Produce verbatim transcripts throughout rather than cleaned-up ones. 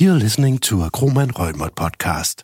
You're listening to a Kromann Reumert podcast.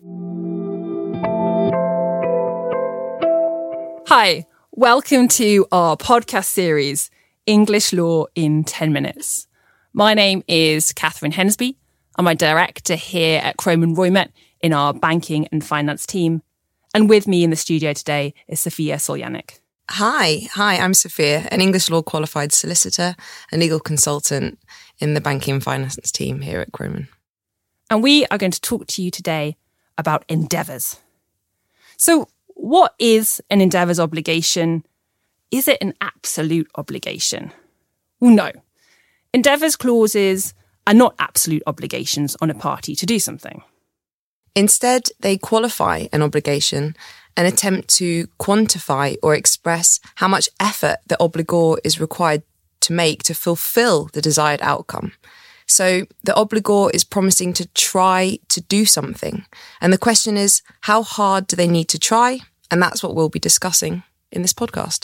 Hi, welcome to our podcast series, English Law in ten minutes. My name is Catherine Hensby. I'm a director here at Kromann Reumert in our banking and finance team. And with me in the studio today is Sophia Soljanik. Hi, hi, I'm Sophia, an English law qualified solicitor and legal consultant in the banking and finance team here at Kromann. And we are going to talk to you today about endeavours. So what is an endeavours obligation? Is it an absolute obligation? Well, no. Endeavours clauses are not absolute obligations on a party to do something. Instead, they qualify an obligation and attempt to quantify or express how much effort the obligor is required to make to fulfil the desired outcome. So the obligor is promising to try to do something. And the question is, how hard do they need to try? And that's what we'll be discussing in this podcast.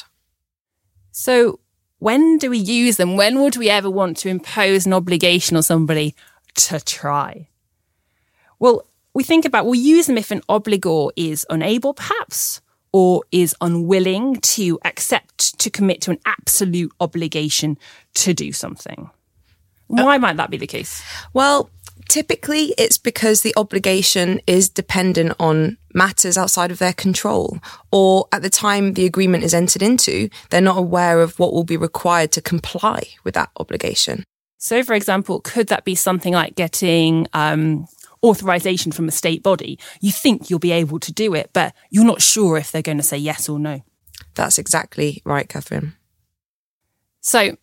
So when do we use them? When would we ever want to impose an obligation on somebody to try? Well, we think about, we'll use them if an obligor is unable, perhaps, or is unwilling to accept, to commit to an absolute obligation to do something. Why might that be the case? Well, typically it's because the obligation is dependent on matters outside of their control, or at the time the agreement is entered into, they're not aware of what will be required to comply with that obligation. So, for example, could that be something like getting um, authorization from a state body? You think you'll be able to do it, but you're not sure if they're going to say yes or no. That's exactly right, Catherine. So,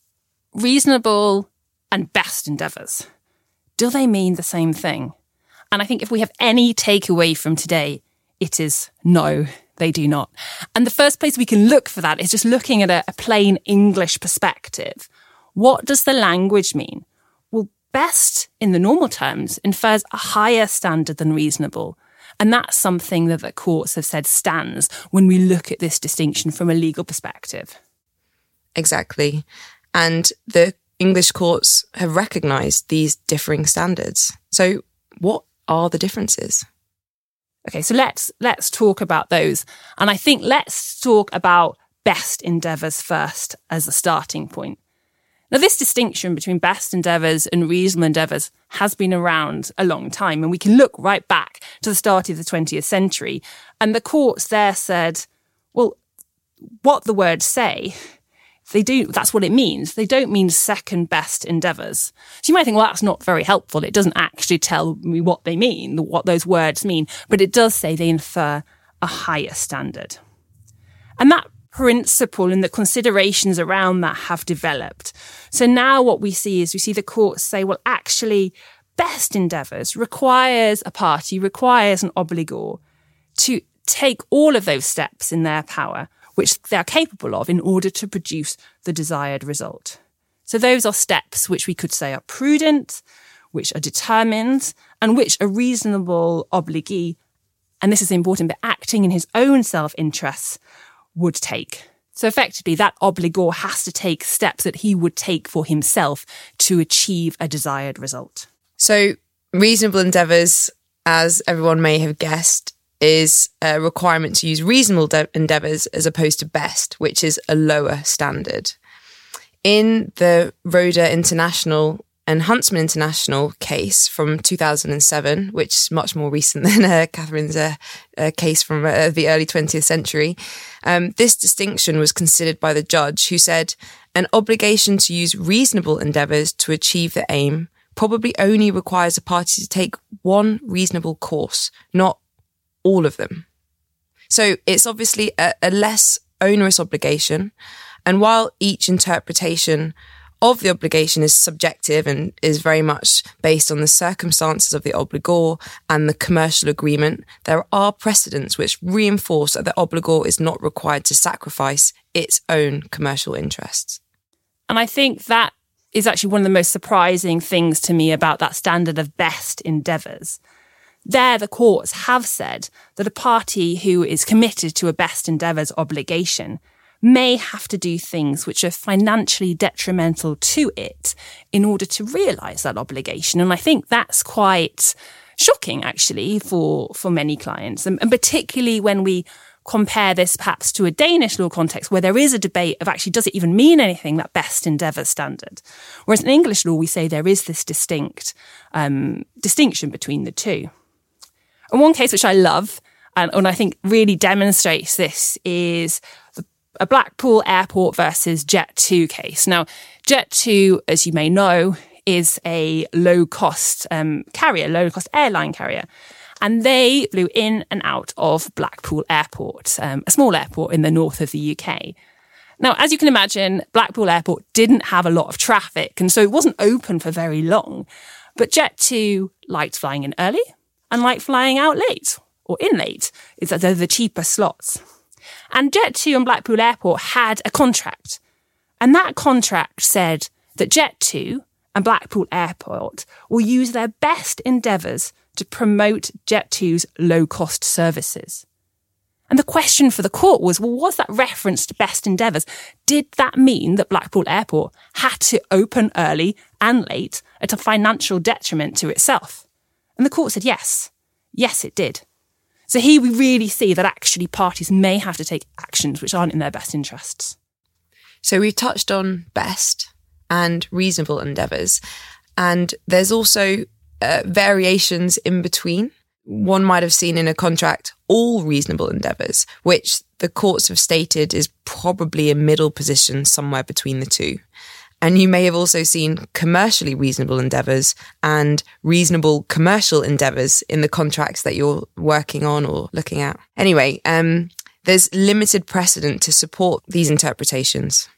reasonable and best endeavours, do they mean the same thing? And I think if we have any takeaway from today, it is no, they do not. And the first place we can look for that is just looking at a, a plain English perspective. What does the language mean? Well, best in the normal terms infers a higher standard than reasonable. And that's something that the courts have said stands when we look at this distinction from a legal perspective. Exactly. And the English courts have recognised these differing standards. So what are the differences? Okay, so let's let's talk about those. And I think let's talk about best endeavours first as a starting point. Now, this distinction between best endeavours and reasonable endeavours has been around a long time, and we can look right back to the start of the twentieth century. And the courts there said, well, what the words say, they do, that's what it means. They don't mean second best endeavours. So you might think, well, that's not very helpful. It doesn't actually tell me what they mean, what those words mean, but it does say they infer a higher standard. And that principle and the considerations around that have developed. So now what we see is we see the courts say, well, actually, best endeavours requires a party, requires an obligor to take all of those steps in their power which they are capable of in order to produce the desired result. So those are steps which we could say are prudent, which are determined, and which a reasonable obligee, and this is important, but acting in his own self-interests, would take. So effectively, that obligor has to take steps that he would take for himself to achieve a desired result. So reasonable endeavours, as everyone may have guessed, is a requirement to use reasonable de- endeavours as opposed to best, which is a lower standard. In the Roda International and Huntsman International case from two thousand seven, which is much more recent than uh, Catherine's uh, uh, case from uh, the early twentieth century, um, this distinction was considered by the judge, who said an obligation to use reasonable endeavours to achieve the aim probably only requires a party to take one reasonable course, not all of them. So it's obviously a, a less onerous obligation. And while each interpretation of the obligation is subjective and is very much based on the circumstances of the obligor and the commercial agreement, there are precedents which reinforce that the obligor is not required to sacrifice its own commercial interests. And I think that is actually one of the most surprising things to me about that standard of best endeavours. There, the courts have said that a party who is committed to a best endeavours obligation may have to do things which are financially detrimental to it in order to realise that obligation. And I think that's quite shocking, actually, for, for many clients, and, and particularly when we compare this perhaps to a Danish law context where there is a debate of actually, does it even mean anything, that best endeavour standard? Whereas in English law, we say there is this distinct um, distinction between the two. And one case which I love, and, and I think really demonstrates this, is the, a Blackpool Airport versus Jet two case. Now, Jet two, as you may know, is a low-cost um, carrier, low-cost airline carrier. And they flew in and out of Blackpool Airport, um, a small airport in the north of the U K. Now, as you can imagine, Blackpool Airport didn't have a lot of traffic, and so it wasn't open for very long. But Jet two liked flying in early and liked flying out late, or in late. It's they're the cheaper slots. And Jet two and Blackpool Airport had a contract. And that contract said that Jet two and Blackpool Airport will use their best endeavours to promote Jet two's low-cost services. And the question for the court was, well, was that reference to best endeavours? Did that mean that Blackpool Airport had to open early and late at a financial detriment to itself? And the court said yes. Yes, it did. So here we really see that actually parties may have to take actions which aren't in their best interests. So we've touched on best and reasonable endeavours, and there's also Uh, variations in between. One might have seen in a contract all reasonable endeavours, which the courts have stated is probably a middle position somewhere between the two. And you may have also seen commercially reasonable endeavours and reasonable commercial endeavours in the contracts that you're working on or looking at. Anyway, um, there's limited precedent to support these interpretations.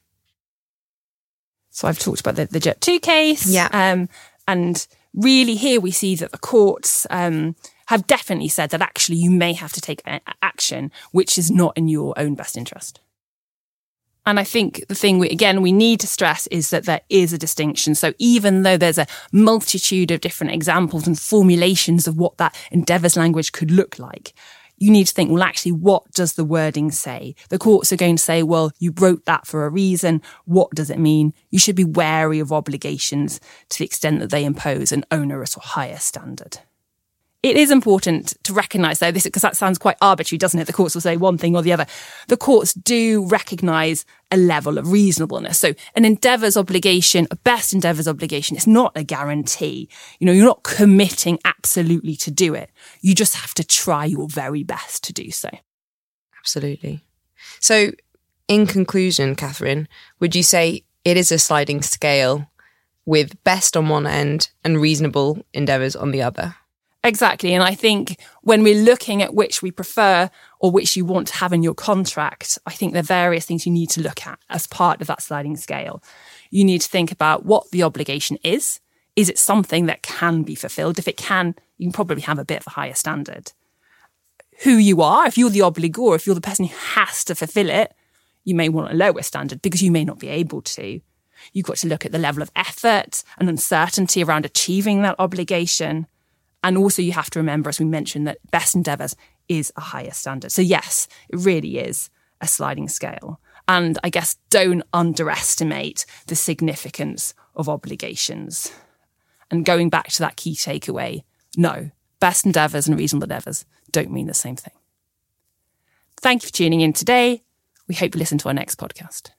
So I've talked about the, the Jet two case. Yeah. Um, and really here we see that the courts um, have definitely said that actually you may have to take a- action which is not in your own best interest. And I think the thing, we, again, we need to stress is that there is a distinction. So even though there's a multitude of different examples and formulations of what that endeavours language could look like, you need to think, well, actually, what does the wording say? The courts are going to say, well, you wrote that for a reason. What does it mean? You should be wary of obligations to the extent that they impose an onerous or higher standard. It is important to recognise, though, this because that sounds quite arbitrary, doesn't it? The courts will say one thing or the other. The courts do recognise a level of reasonableness. So an endeavours obligation, a best endeavours obligation, is not a guarantee. You know, you're not committing absolutely to do it. You just have to try your very best to do so. Absolutely. So in conclusion, Catherine, would you say it is a sliding scale with best on one end and reasonable endeavours on the other? Exactly. And I think when we're looking at which we prefer or which you want to have in your contract, I think there are various things you need to look at as part of that sliding scale. You need to think about what the obligation is. Is it something that can be fulfilled? If it can, you can probably have a bit of a higher standard. Who you are, if you're the obligor, if you're the person who has to fulfill it, you may want a lower standard because you may not be able to. You've got to look at the level of effort and uncertainty around achieving that obligation. And also you have to remember, as we mentioned, that best endeavours is a higher standard. So yes, it really is a sliding scale. And I guess don't underestimate the significance of obligations. And going back to that key takeaway, no, best endeavours and reasonable endeavours don't mean the same thing. Thank you for tuning in today. We hope you listen to our next podcast.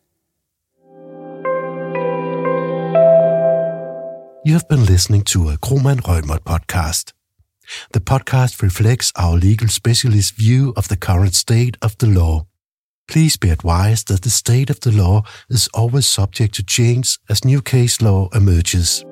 You have been listening to a Kromann Reumert podcast. The podcast reflects our legal specialist view of the current state of the law. Please be advised that the state of the law is always subject to change as new case law emerges.